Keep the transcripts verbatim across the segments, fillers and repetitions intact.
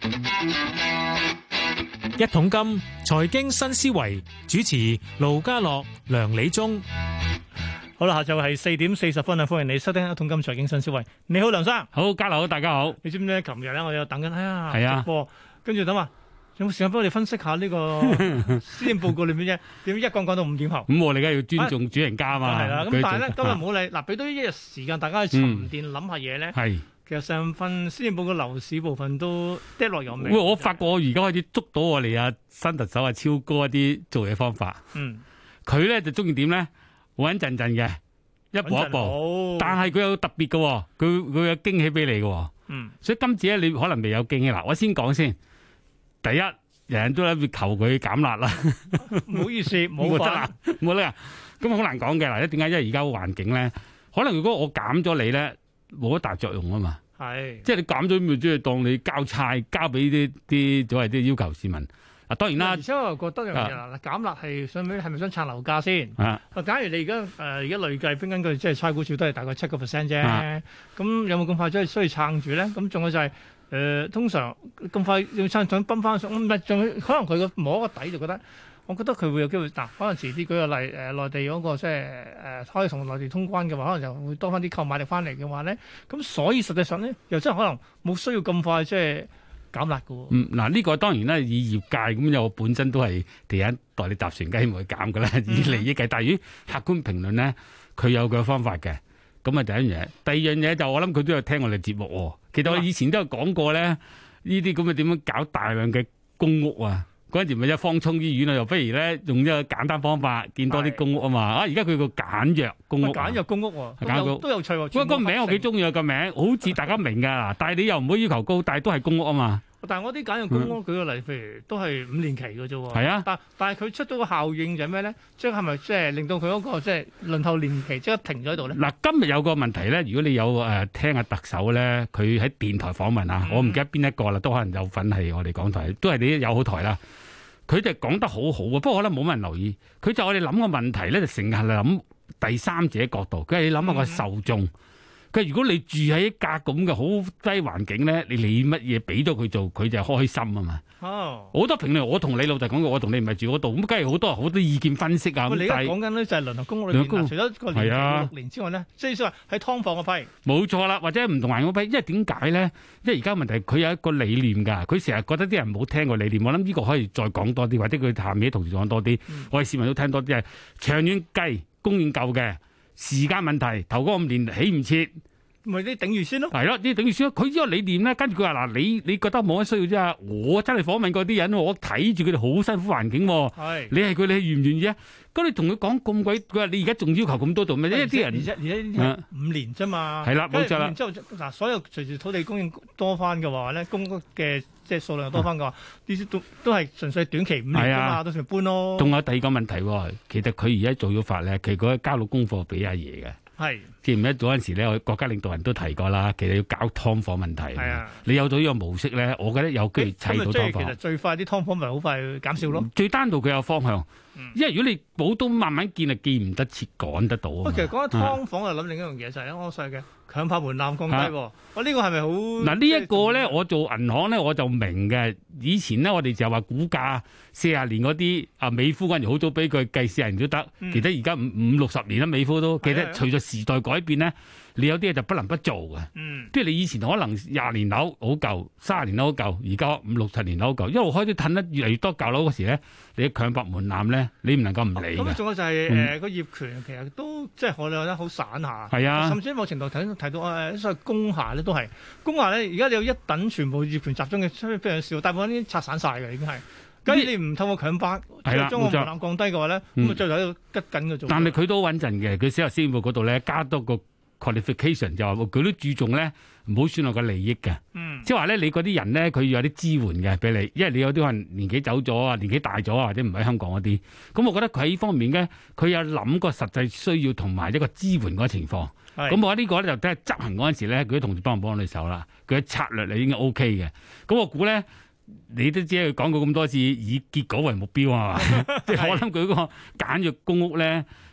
一桶金財經新思維，主持盧家樂、梁理中。 好啦，下晝係四點四十分啊！歡迎你收聽一桶金財經新思維。你好，梁生。 好，家樂好，大家好。 你知唔知？琴日咧，我有等緊，哎呀， 係啊， 直播，跟住等話有冇時間幫我哋分析下呢個施政報告裏面啫？點一講講到五點後。 咁我哋梗係要尊重主人家嘛。 係啦，咁但係咧，今日唔好理。嗱，俾多一日時間大家去沉澱諗下嘢咧。係。其實上份施政報告樓市部分都跌落有味。 喂，我發覺我而家開始捉到我哋啊新特首啊超哥一啲做嘢方法。嗯。佢咧就中意點咧？穩陣陣嘅，一步一步。但係佢有特別嘅，佢佢有驚喜俾你嘅。嗯。所以今次咧，你可能未有驚喜。嗱，我先講先。第一，人人都諗住求佢減辣啦。 唔好意思，冇得啦， 冇得啦。咁好難講嘅嗱，點解？因為而家個環境咧，可能如果我減咗你咧。冇乜大作用啊嘛，係即係你減咗咪即係當你交差交俾啲啲所謂啲要求市民啊，當然啦。而且我又覺得樣嘢啦，減辣係想係咪想撐樓價先？啊，假如你而家誒而家累計根據即係差估署都係大概七個 percent 啫，咁、啊、有冇咁快即係需要撐住咧？咁仲有就係、是、誒、呃、通常咁快要撐想崩翻上，唔係仲可能佢個摸個底就覺得。我覺得佢會有機會，嗱，可能遲啲舉個例，誒、呃、內地嗰、那個即係誒可以同內地通關嘅話，可能就會多翻啲購買力翻嚟嘅話咧，咁所以實際上咧，又真係可能冇需要咁快即係減辣嘅喎。嗯，嗱，呢個當然啦，以業界咁有本身都係地產代理集團梗係唔會減嘅啦，以利益計。但係於客觀評論咧，佢有佢嘅方法嘅。咁啊，第一樣嘢，第二樣嘢就我諗佢都有聽我哋節目喎。其實我以前都有講過咧，呢啲咁嘅點樣搞大量嘅公屋啊。嗰陣時咪一方艙醫院啊，又不如咧用一個簡單方法建多啲公屋啊嘛！啊，而家佢個簡約公屋，簡約公屋喎，都有都有趣喎。不過個名我幾中意啊，個名好似大家明㗎，但係你又唔會要求高，但係都係公屋啊嘛。但係我啲簡約公屋舉個例，譬如都係五年期嘅啫喎。係啊，但但係佢出咗個效應就係咩咧？即係咪即係令到佢嗰個即係輪候年期即刻停咗喺度咧？嗱，今日有個問題咧，如果你有誒聽下特首咧，佢喺電台訪問啊，我唔記得邊一個啦，都可能有份係我哋港台，都係你友好台啦。佢就講得好好啊，不過可能冇乜人留意。佢就我哋諗個問題咧，就成日諗第三者角度。佢係你諗下個受眾。佢、嗯、如果你住喺一格咁嘅好低環境咧，你理乜嘢俾到佢做，佢就開心啊嘛。哦，好多評論，我同你老實講過，我同你唔係住嗰度，咁梗係好多好多意見分析啊。你而家講緊咧就係輪候公屋裏面，除咗個年期六年之外咧，即係話喺劏房嗰批，冇錯啦，或者唔同環境嗰批。因為點解咧？因為而家問題佢有一個理念㗎，佢成日覺得啲人冇聽過理念。我諗呢個可以再講多啲，或者佢下面啲同事講多啲、嗯，我哋市民都聽多啲係長遠計供應夠嘅時間問題，頭嗰五年起唔切。咪啲頂住先咯，係咯，啲頂住先咯。佢呢個理念咧，跟住佢話嗱，你你覺得冇乜需要啫？我真係訪問過啲人，我睇住佢哋好辛苦環境。係，你係佢，你願唔願意啊？咁你同佢講咁鬼，佢話你而家仲要求咁多做咩？因為啲人而家而家五年啫嘛。係啦，冇錯啦。然之後嗱，所有隨住土地供應多翻嘅話咧，公屋嘅即係數量多翻嘅話，呢啲都都係純粹短期五年啫嘛，到時搬咯。仲有第二個問題，其實佢而家做咗法咧，其實佢交到功課俾阿爺嘅。係，記唔記得嗰陣時咧，我國家領導人都提過啦。其實要搞劏房問題，係啊，你有咗呢個模式咧，我覺得有機會砌到劏房。咁其實最快啲劏房咪好快減少咯。最單獨佢有方向，嗯、因為如果你冇都慢慢建，就建唔得切，趕得到啊。其實講緊劏房，我諗另一樣嘢就係我細嘅強拍門檻降低。我、啊、呢、這個係咪好？嗱呢一個咧，我做銀行咧，我就明嘅。以前咧，我哋就話估價四十年嗰啲啊，美孚嗰陣好早俾佢計四十年都得。其實而家五五六十年啦，美孚都。其實隨著時代改變咧，你有啲嘢就不能不做嘅。嗯，即係你以前可能廿年樓好舊，三十年樓好舊，而家五六十年樓好舊，一路開始褪得越嚟越多舊樓嗰時咧，你強拍門檻咧，你唔能夠唔理嘅。咁仲有就係誒個業權，其實都即係我哋覺得好散下。係啊，甚至某程度睇提到誒所謂工廈咧，都係工廈咧。而家你有一等全部業權集中嘅非常少，大部分啲拆散晒嘅已經係。假如你唔透過強拍，將個門檻降低嘅話咧，咁啊最後喺度吉緊嘅做。但係佢都穩陣嘅，佢寫入施政報告嗰度咧，加多個 qualification 就話佢都注重咧，唔好損害個利益嘅。嗯，即係話咧，你嗰啲人咧，佢要有啲支援嘅俾你，因為你有啲可能年紀走咗啊，年紀大咗啊，或者唔喺香港嗰啲。咁我覺得佢喺呢方面咧，佢有諗過實際需要同埋一個支援嗰個情況。咁我覺得呢個咧就睇下執行嗰陣時咧，佢啲同事幫唔幫你手啦。佢嘅策略你應該 OK 嘅。咁我估咧。你都知佢講過咁多次以結果為目標啊嘛，即係我諗佢嗰個簡約公屋咧，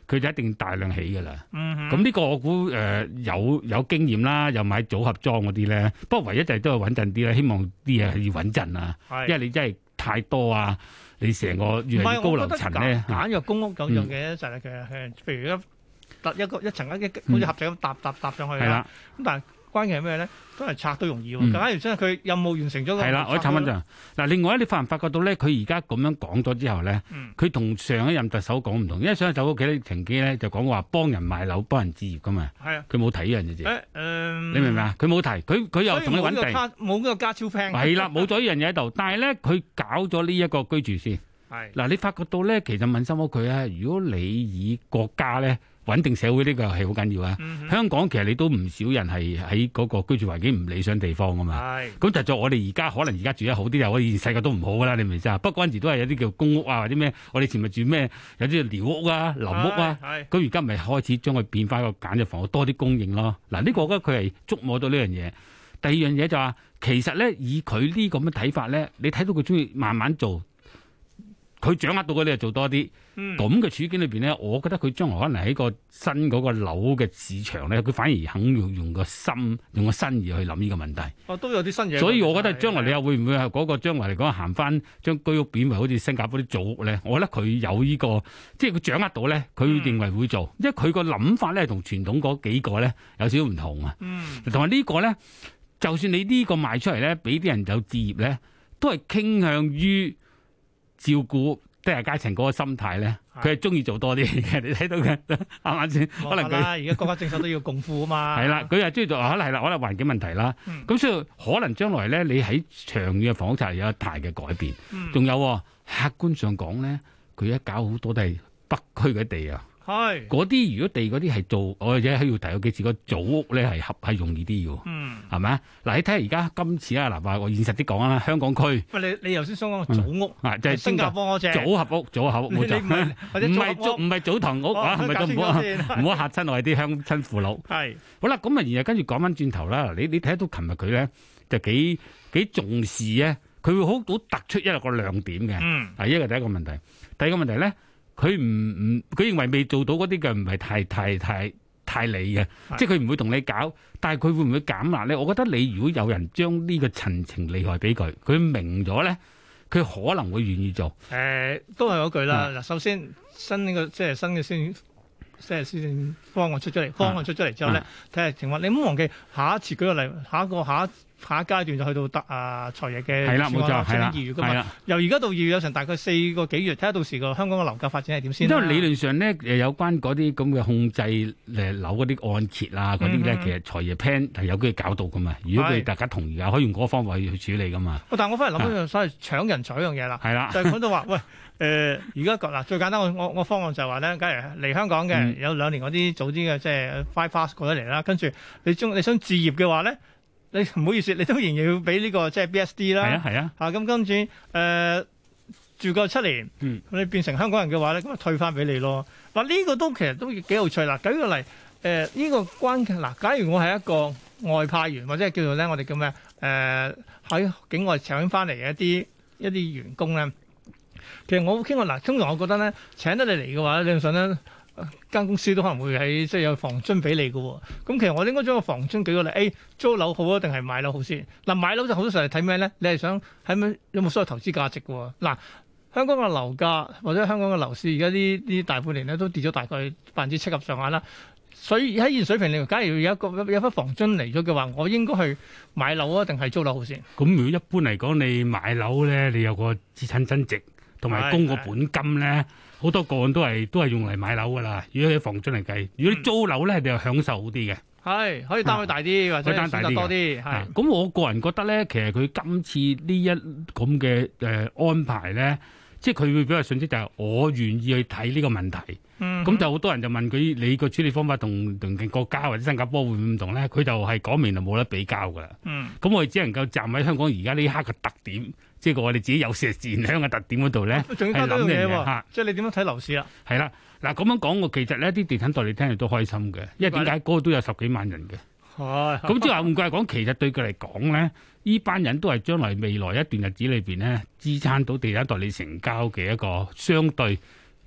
佢就一定大量起㗎啦。咁、 嗯、 呢個我估誒、呃、有有經驗啦，又買組合裝嗰啲咧。不過唯一就係都係穩陣啲啦，希望啲嘢係要穩陣啊。因為你真係太多啊，你成個越嚟越高樓層咧。 簡約公屋有樣嘢就係嘅，係譬如一搭一個一層一好似盒仔咁搭搭搭上去啦。咁、嗯、但係關鍵係咩咧？都係拆都容易喎。 嗯、 假如真係佢任務完成咗， 係啦，我插翻就嗱。另外咧，你發唔發覺到咧？佢而家咁樣講咗之後咧，佢、嗯、同上一任特首講唔同。因為上一任特首屋企咧，曾經咧就講話幫人賣樓、幫人置業噶嘛。係啊，佢冇提呢樣嘢啫。誒、嗯，你明唔明啊？佢冇提，佢佢又同你揾地， 冇呢個加超 plan。 係啦，冇咗呢樣嘢喺度。但係咧，佢搞咗呢一個居住先。係嗱，你發覺到咧，其實問心屋佢啊，如果你以國家咧穩定社會呢個係好緊要啊、嗯。香港其實你都唔少人係喺嗰個居住環境唔理想地方噶嘛。係咁就做我哋而家可能而家住得好啲，又我以前細個都唔好噶啦，你明唔明先啊？不過嗰陣時都係有啲叫公屋啊，或者咩，我哋以前咪住咩有啲寮屋啊、臨屋啊。咁而家咪開始將佢變翻個簡約房屋多啲供應咯。嗱，呢個我覺得佢係觸摸到呢樣嘢。第二樣嘢就話、是，其實咧以佢呢咁嘅睇法咧，你睇到佢中意慢慢做。佢掌握到嗰啲就做多啲，咁、嗯、嘅處境裏邊咧，我覺得佢將來可能喺個新嗰個樓嘅市場咧，佢反而肯用用個心、用個新意去諗呢個問題。 哦，都有啲新嘢。 所以我覺得將來你又會唔會係嗰個將來嚟講行翻將居屋變為好似新加坡啲組屋咧？我覺得佢有呢、這個，即係佢掌握到咧，佢認為會做，嗯、因為佢個諗法咧同傳統嗰幾個咧有少少唔同啊。嗯，同埋呢個咧，就算你呢個賣出嚟咧，俾啲人有置業咧，都係傾向於照顧低下階層嗰個心態咧，佢係中意做多啲嘅。你睇到嘅啱啱先？可能佢而家國家政策都要共富啊嘛。係啦，佢係中意做，可能係啦，可能環境問題啦。咁、嗯、所以可能將來咧，你喺長遠嘅房屋策略有一大嘅改變。仲、嗯、有客觀上講咧，佢一搞好多都係北區嘅地啊。係嗰啲，如果地嗰啲係做，我或者喺要提嗰幾次個組屋咧，係合係容易啲嘅。嗯，係咪啊？嗱，你睇下而家今次啊，嗱，話我現實啲講啦，香港區。喂，你你頭先想講組屋啊，就係、是、新加坡嗰隻組合屋，組合屋冇錯。唔係組唔係組堂屋啊，唔係咁唔好唔好嚇親我哋啲鄉親父老。係好啦，咁啊，然後跟住講翻轉頭啦。你你睇到琴日佢咧就幾幾重視咧，佢會好好突出一個亮點嘅。嗯，係一個第一個問題，第二個問題咧。佢唔唔，佢認為未做到嗰啲嘅唔係太太太太理嘅，即係佢唔會同你搞，但係佢會唔會減壓咧？我覺得你如果有人將呢個陳情利害俾佢，佢明咗咧，佢可能會願意做。誒、 呃，都係嗰句啦。嗱，首先新呢、這個即係新嘅先，即係先方案出咗嚟，方案出咗嚟之後咧，睇下情況。你唔好忘記下一次舉個例，下一個下一。下一階段就去到得啊財爺嘅，係啦冇錯，係啦二月噶嘛，由而家到二月有成大概四個幾月，睇下到時個香港嘅樓價發展係點先。 因為理論上咧，誒有關嗰啲咁嘅控制誒樓嗰啲按揭啊嗰啲咧，其實財爺 plan 係有機會搞到噶嘛。如果佢大家同意啊，可以用嗰個方法去處理噶嘛。但係我翻嚟諗一樣所謂搶人才嗰樣嘢啦，係啦，就係講到話喂誒而家嗱最簡單我我我方案就係話咧，假如嚟香港嘅、嗯、有兩年嗰啲早啲嘅即係 five fast 過咗嚟啦，跟住你將你想置業嘅話咧。你唔好意思，你都仍然要俾呢、這個即係 B S D 啦。係啊係啊。嚇咁跟住誒住夠七年，咁、嗯、你變成香港人嘅話咧，咁啊退翻俾你咯。嗱、這、呢個都其實都幾有趣啦。舉個例誒，呢、呃這個關鍵嗱，假如我係一個外派員或者係叫做咧，我哋叫咩誒喺境外請翻嚟嘅一啲一啲員工咧，其實我傾過嗱，通常我覺得咧請得你嚟嘅話，理論上咧。間公司都可能會喺即係有房津俾你嘅喎，咁其實我應該將個房津舉個例 A 租樓好啊，定係買樓好先？嗱買樓就好多時候係睇咩咧？你係想喺咩有冇所謂投資價值嘅喎？嗱香港嘅樓價或者香港嘅樓市而家呢呢大半年咧都跌咗大概百分之七十上下啦，所以喺現水平嚟講，假如有一個有一筆房津嚟咗嘅話，我應該去買樓啊，定係租樓好先？咁如果一般嚟講，你買樓咧，你有個資產增值同埋供個本金咧。好多個案都係都係用嚟買樓噶啦，如果喺房津嚟計，如果你租樓咧，你又享受好啲嘅，係可以單位大啲、啊、或者單位多啲。係咁，我個人覺得咧，其實佢今次呢一咁嘅誒安排咧，即係佢會俾個信息就係我願意去睇呢個問題。嗯，咁就好多人就問佢你個處理方法同鄰近國家或者新加坡會唔同咧？佢就係講明就冇得比較噶啦。嗯，咁我哋只能夠站喺香港而家呢刻嘅特點。即係我哋自己有時善香嘅特點嗰度咧，係諗嘅嘢。即係你點樣睇樓市啊？係啦，嗱咁樣講，我其實呢啲地產代理聽嚟都開心嘅，因為點解嗰個都有十幾萬人嘅。係。咁即係話換句嚟講，其實對佢嚟講咧，呢班人都係將來未來一段日子裏邊咧，支撐到地產代理成交嘅一個相對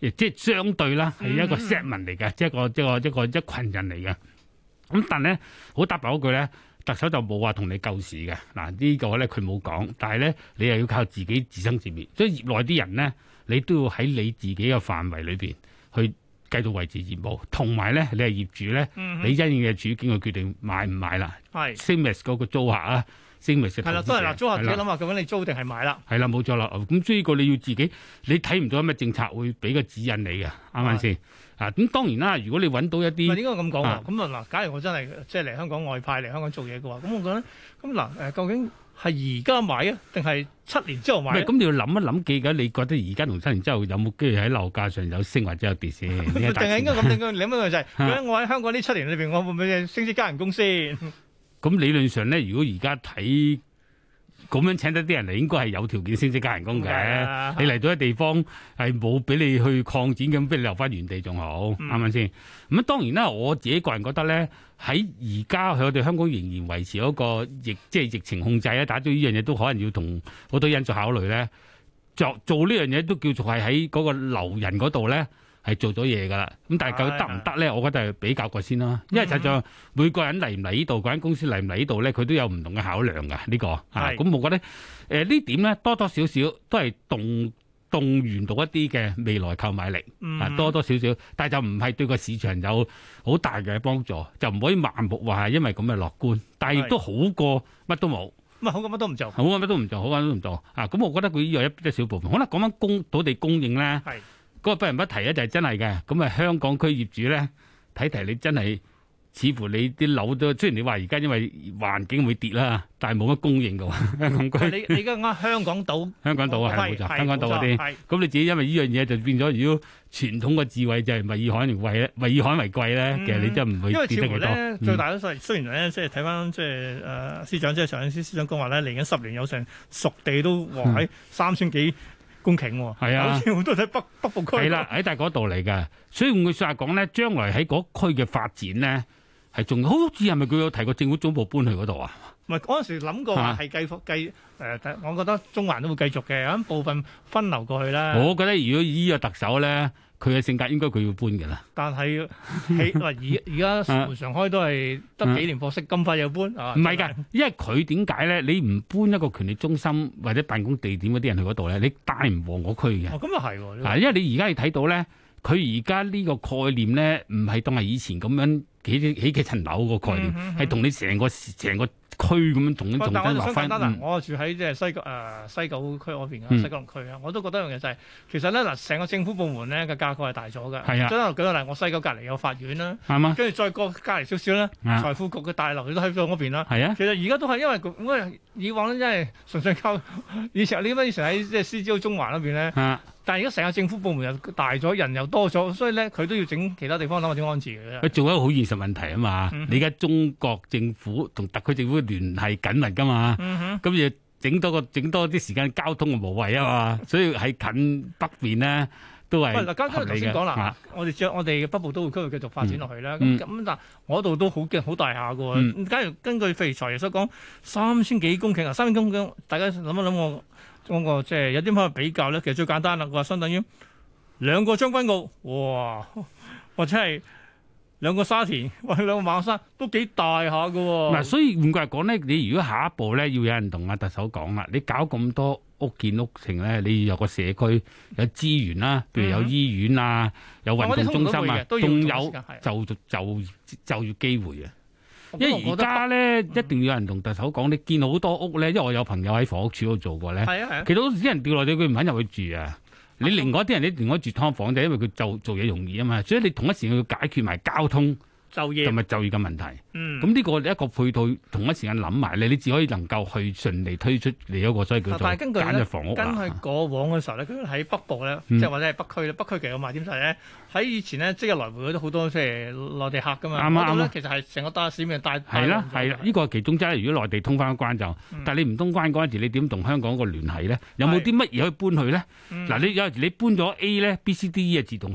亦即係相對啦，係一個 segment 嚟嘅，即係一個一個一個一群人嚟嘅。咁但係咧，好答白嗰句咧，特首就冇話同你救市嘅。嗱、這個、呢個咧佢冇講，但係咧你又要靠自己自生自滅。所以業內啲人咧，你都要喺你自己嘅範圍裏邊去繼續維持業務，同埋咧你係業主咧，嗯、你因應嘅處境去決定買唔買啦。係 same as 嗰個租客啊。係啦，都係嗱，租客自己諗下究竟你租定係買啦。係啦，冇錯啦。咁所以個你要自己，你睇唔到有咩政策會俾個指引你嘅，啱唔啱先？啊，咁當然啦，如果你揾到一啲，唔係應該咁講喎。咁啊嗱，假如我真係即係嚟香港外派嚟香港做嘢嘅話，咁我覺得咁嗱誒，究竟係而家買啊，定係七年之後買？唔係，咁你要諗一諗，記緊你覺得而家同七年之後有冇機會喺樓價上有升或者有跌先？定係應該咁？應該諗一個就係，究竟我喺香港呢七年裏邊，我會唔會升職加人工先？咁理論上咧，如果而家睇咁樣請得啲人嚟，應該係有條件升職加人工嘅。Okay. 你嚟到一地方係冇俾你去擴展咁，俾你留翻原地仲好，啱唔啱先？咁當然啦，我自己個人覺得咧，喺而家我哋香港仍然維持嗰個疫，即係疫情控制啊，打咗呢樣嘢都可能要同好多因素考慮咧。做做呢樣嘢都叫做係喺嗰個留人嗰度咧。係做咗嘢㗎啦，咁但係究竟得唔得咧？我覺得係比較過先啦，因為實際上每個人嚟唔嚟呢度，嗰間公司嚟唔嚟呢度咧，佢都有唔同嘅考量㗎。呢、呢個啊，咁我覺得誒、呃、呢點咧多多少少都係動動員到一啲嘅未來購買力啊，多多少少，但係就唔係對個市場有好大嘅幫助，就唔可以盲目話係因為咁嘅樂觀，但係亦都好過乜都冇。咁啊，好過乜都唔做，好過乜都唔做，好過乜都唔做啊！咁我覺得佢呢個一一小部分，可能講翻供土地供應咧。嗰個不人不提咧，就係真係嘅。咁啊，香港區業主咧，睇提你真係，似乎你啲樓都雖然你話而家因為環境會跌啦，但係冇乜供應嘅喎。香港區，你你而家啱香港島，香港島係冇錯，香港島嗰啲。咁你自己因為呢樣嘢就變咗，如果傳統嘅智慧就係物以罕為貴咧，物以罕為貴咧，其實你真係唔會跌得幾多。因為似乎咧，最大嘅雖雖然咧，即係睇翻即係誒司長，即係上司司長講話咧，嚟緊十年有成熟地都話喺三千幾公頃喎，係啊，好似好多喺北北部區，係啦，喺大嗰度嚟嘅。所以換句説話講咧，將來喺嗰區嘅發展咧，係仲好似係咪佢有提過政府總部搬去嗰度啊？唔係嗰陣時諗過話係繼續繼誒，我覺得中環都會繼續嘅，咁部分分流過去啦。我覺得如果依個特首咧，佢嘅性格應該佢要搬嘅啦。但係起話而而家門常開都係得幾年貨息，咁快又搬啊？唔係㗎，因為佢點解咧？你唔搬一個權力中心或者辦公地點嗰啲人去嗰度咧，你帶唔旺嗰區嘅。哦，咁又係喎。啊，因為你而家你睇到咧，佢而家呢個概念咧，唔係當係以前咁樣起起起幾層樓個概念，係同、嗯嗯嗯、你成個成個區咁樣同咁重新落翻。嗯、我住喺即係西九誒、呃、西九區嗰邊啊，西九龍區啊，我都覺得一樣嘢就係、是，其實咧嗱，成個政府部門咧嘅架構係大咗嘅。係啊，即係舉個例，我西九隔離有法院啦，係嘛，跟住再過隔離少少咧，財富局嘅大樓都喺咗嗰邊啦。係啊，其實而家都係因為因為以往咧，真係純粹靠以前你乜以前喺即係 C G O 中環嗰邊咧。啊但係而家成個政府部門又大咗，人又多咗，所以咧佢都要整其他地方諗下點安置嘅。佢做一個好現實問題啊嘛！嗯、哼你而家中國政府同特區政府聯繫緊密噶嘛？咁要整多個整多啲時間交通嘅無謂啊嘛！所以喺近北邊咧都係。喂，嗱，剛剛頭先講啦，啊、我哋將我哋嘅北部都會區會繼續發展落去啦。咁咁、嗯、但係我度都好勁好大下嘅喎。嗯、假如根據譬如財爺所講，三千幾公頃啊，三千公頃，大家諗一諗我。嗰個即係有啲乜比較咧？其實最簡單啦，佢話相當於兩個將軍澳，哇，或者係兩個沙田或者兩個馬鞍山，都幾大下㗎喎。嗱，所以換句話講咧，你如果下一步咧要有人同阿特首講啦，你搞咁多屋建屋城咧，你要有個社區有資源啦，譬如有醫院啊，有運動中心啊，仲有就就就就業機會啊。因為而家咧一定要有人同特首講，你見好多屋咧，因為我有朋友喺房屋署度做過咧，係啊係啊，其實啲人掉落地佢唔肯入去住啊。你另外一啲人你另外住劏房就因為佢就做嘢容易啊嘛，所以你同一時間要解決埋交通。就業同埋就業嘅問題，嗯，咁呢個一個配套同一時間諗埋咧，你只可以能夠去順利推出你一個所謂叫做簡約房屋啦。根據過往嘅時候咧，佢喺北部咧，即係、嗯、或者係北區咧，北區其實有賣點就係咧，喺以前咧即日來回嗰啲好多即係內地客噶嘛，嗰度咧其實係成個大市面大係啦係啦，呢個係其中之一。如果內地通翻關就，嗯、但係你唔通關嗰陣時，你點同香港個聯繫咧？有冇啲乜嘢可以搬去咧？嗱、嗯，你有時你搬咗 A 咧，B、C、D、E 係自動去嘅。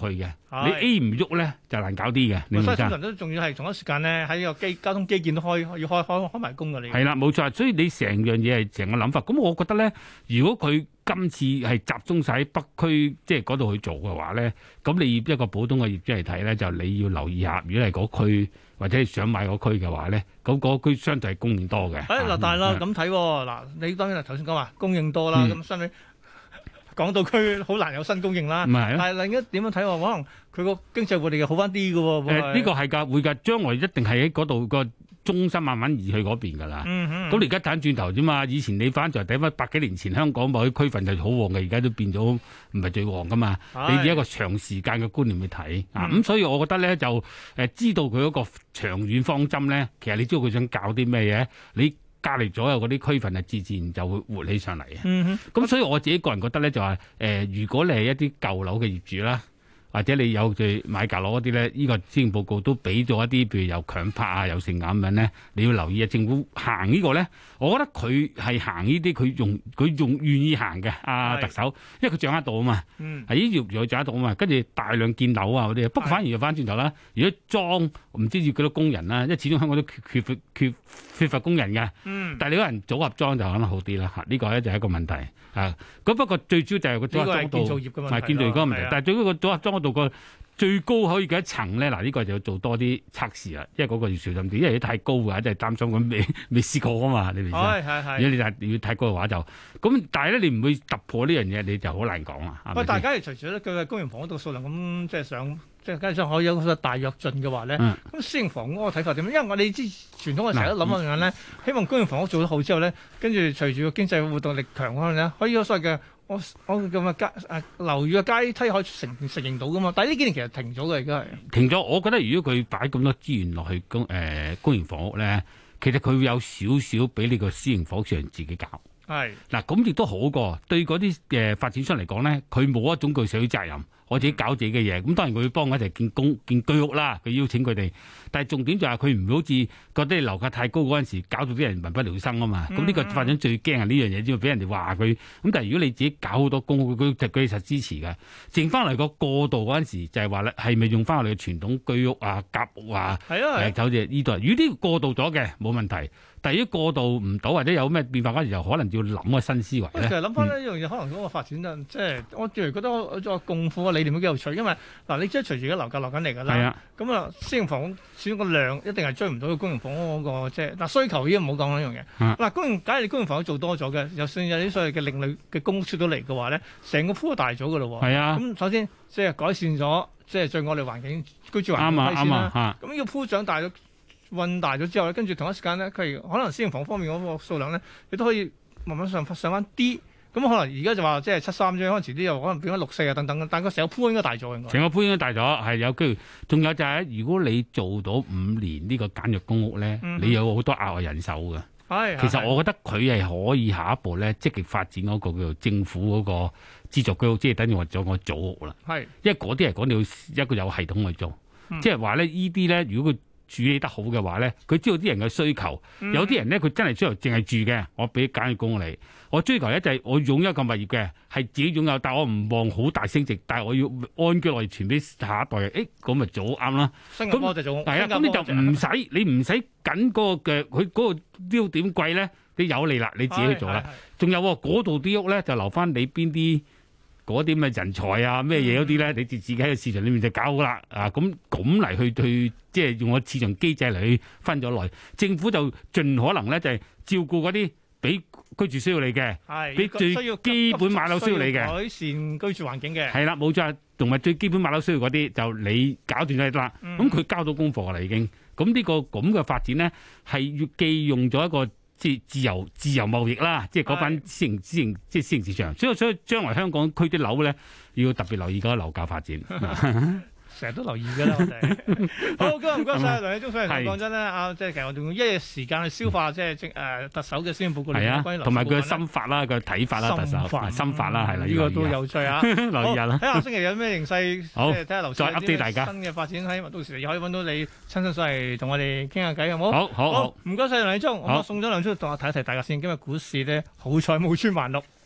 你 A 唔喐咧就難搞啲嘅。 所以通常都仲要係同一時間咧喺個基交通基建都開要開開開埋工㗎你。 係啦，冇錯。所以你成樣嘢係成個諗法。咁我覺得咧，如果佢今次係集中晒喺北區，即係嗰度去做嘅話咧，咁你一個普通嘅業主嚟睇咧，就你要留意下，如果係嗰區或者係想買嗰區嘅話咧，咁嗰區相對係供應多嘅。 誒嗱，但係啦咁睇嗱，你當然係頭先講話供應多啦，咁相比港島區好難有新供應啦。但係另一點樣睇話，可能佢個經濟活力又好翻啲嘅喎。 誒呢個係㗎，會㗎，將來一定係喺嗰度個中心慢慢移去嗰邊㗎啦。咁你而家睇轉頭啫嘛，以前你翻就睇翻百幾年前香港某啲區份就好旺嘅，而家都變咗唔係最旺㗎嘛。你以一個長時間嘅觀念去睇啊，咁所以我覺得咧就誒知道佢嗰個長遠方針咧，其實你知道佢想搞啲咩嘢，你隔離左右嗰啲區份啊，自然就會活起上嚟嘅。咁、嗯、所以我自己個人覺得咧，就係、是、誒、呃，如果你係一啲舊樓嘅業主啦，或者你有住買舊樓嗰啲咧，呢、這個施政報告都俾咗一啲，譬如有強拍啊，有性咁樣咧，你要留意啊。政府行呢個咧，我覺得佢係行呢啲，佢用佢用願意行嘅。阿、啊、特首，因為佢掌握到啊嘛，係呢條又掌握到啊嘛，跟住大量建樓啊嗰啲。不過反而又翻轉頭啦，如果裝唔知要幾多工人啦，因為始終香港都缺缺缺缺乏工人嘅。嗯、但係你嗰人組合裝就可能好啲啦。嚇，呢個咧就係一個問題。啊，咁不過最主要就係個組合裝度，唔係建造業嗰個問題。但係最嗰個組合裝嗰度個最高可以幾多層咧？嗱，呢個就要做多啲測試啦，因為嗰個要小心啲，因為如果太高嘅話，真係擔心咁未未試過啊嘛，你明唔明？係係係。如果你就要太高嘅話就咁，但係咧你唔會突破呢樣嘢，你就好難講啦。 喂，大家隨住咧佢嘅公營房屋度數量咁即係上，即係加上可以有個大躍進嘅話咧，咁、嗯、私營房屋個睇法點？因為我哋知傳統嘅成日都諗一樣咧，希望公營房屋做得好之後咧，跟住隨住個經濟活動力強嗰陣咧，可以有所謂嘅。我我咁嘅階誒樓宇嘅階梯可以承承認到噶嘛？但係呢幾年其實停咗嘅，而家係停咗。我覺得如果佢擺咁多資源落去公誒、呃、公營房屋咧，其實佢會有少少俾你個私營房屋商自己搞。係嗱，咁亦都好過對嗰啲誒發展商嚟講咧，佢冇一種具社會責任。我自己搞自己嘅嘢，咁當然佢會幫我一齊建公建居屋啦。佢邀請佢哋，但係重點就係佢唔會好似覺得你樓價太高嗰陣時，搞到啲人民不聊生啊嘛。咁呢、嗯、個發展最驚係呢樣嘢，只會俾人哋話佢。咁但係如果你自己搞好多公屋，佢佢佢實支持嘅。剩翻嚟個過渡嗰陣時，就係話咧，係咪用翻我哋嘅傳統居屋啊、夾屋啊？係啊，誒，好似呢度。如果呢個過渡咗嘅冇問題。但係如果過渡唔到或者有咩變化嗰時，就可能要諗個新思維咧。其實諗翻呢一樣嘢，可能嗰個發展咧，即係我最嚟覺得我個共富嘅理念都幾有趣，因為嗱，你即係隨住而家樓價落緊嚟㗎啦。咁啊，私營房屋始終個量一定係追唔到個公營房屋嗰個即係嗱需求已經唔好講呢樣嘢。嗱，公營假如你公營房屋做多咗嘅，就算有啲所謂嘅另類嘅公屋出到嚟嘅話咧，成個鋪都大咗㗎咯喎。係啊。咁首先即係改善咗即係最惡劣環境居住環境先啦。啱啊啱啊。咁呢個鋪長大咗。運大咗之後咧，跟住同一時間咧，佢可能私營房方面嗰個數量咧，亦都可以慢慢上上翻啲。咁可能而家就話即係七三啫，可能遲啲又可能變咗六四啊等等。但係個成個鋪應該大咗應該。成個鋪應該大咗，係有機會。仲有就係、是、如果你做到五年呢個簡約公屋咧，嗯、哼你有好多額外人手嘅。係。其實我覺得佢係可以下一步咧積極發展嗰個叫做政府嗰個資助居屋，即係等於話咗個組屋啦。係。因為嗰啲係講你要一個有系統去做，嗯、即係話咧呢啲咧，如果佢處理得好嘅話咧，佢知道啲人嘅需求。嗯、有啲人咧，佢真係需求淨係住嘅，我俾簡約公屋你。我追求一就係我擁有一個物業嘅，係自己擁有，但我唔望好大升值，但係我要安居樂業傳俾下一代。誒，咁咪做啱啦。咁就做。係啊，咁你就唔使，你唔使緊嗰個嘅，佢嗰個標點貴咧，你有利啦，你自己去做啦。仲有嗰度啲屋咧，就留翻你邊啲。嗰啲咩人才啊咩嘢嗰啲咧，你自己喺個市場裏面就搞好啦啊！咁咁嚟去去，即係用個市場機制嚟去分咗來，政府就盡可能咧就係照顧嗰啲俾居住需要你嘅，係俾最基本買樓需要你嘅，改善居住環境嘅，係啦冇錯，同埋最基本買樓需要嗰啲就你搞掂咗得啦。咁佢、嗯、交到功課啦已經，咁呢、呢個咁嘅發展咧係要既用咗一個。即係自由自由貿易啦，即係嗰班私營私營即係私營市場，所以所以將來香港區啲樓咧要特別留意嗰個樓價發展。成日都留意㗎啦，我哋。好，今日唔該晒梁理中，所以講真咧，啊，即係其實我哋用一日時間去消化，即係即誒特首嘅施政報告嚟講，同埋佢嘅心法啦，佢嘅睇法啦，特首心法啦，係啦，呢個都有趣啊！留意下啦。睇下星期有咩形勢，即係睇下樓市有啲新嘅發展，喺到時又可以揾到你親身上嚟同我哋傾下偈，好冇？好好好，唔該晒梁理中，我送咗兩張同我睇一睇大家先。今日股市咧，好彩冇穿萬六。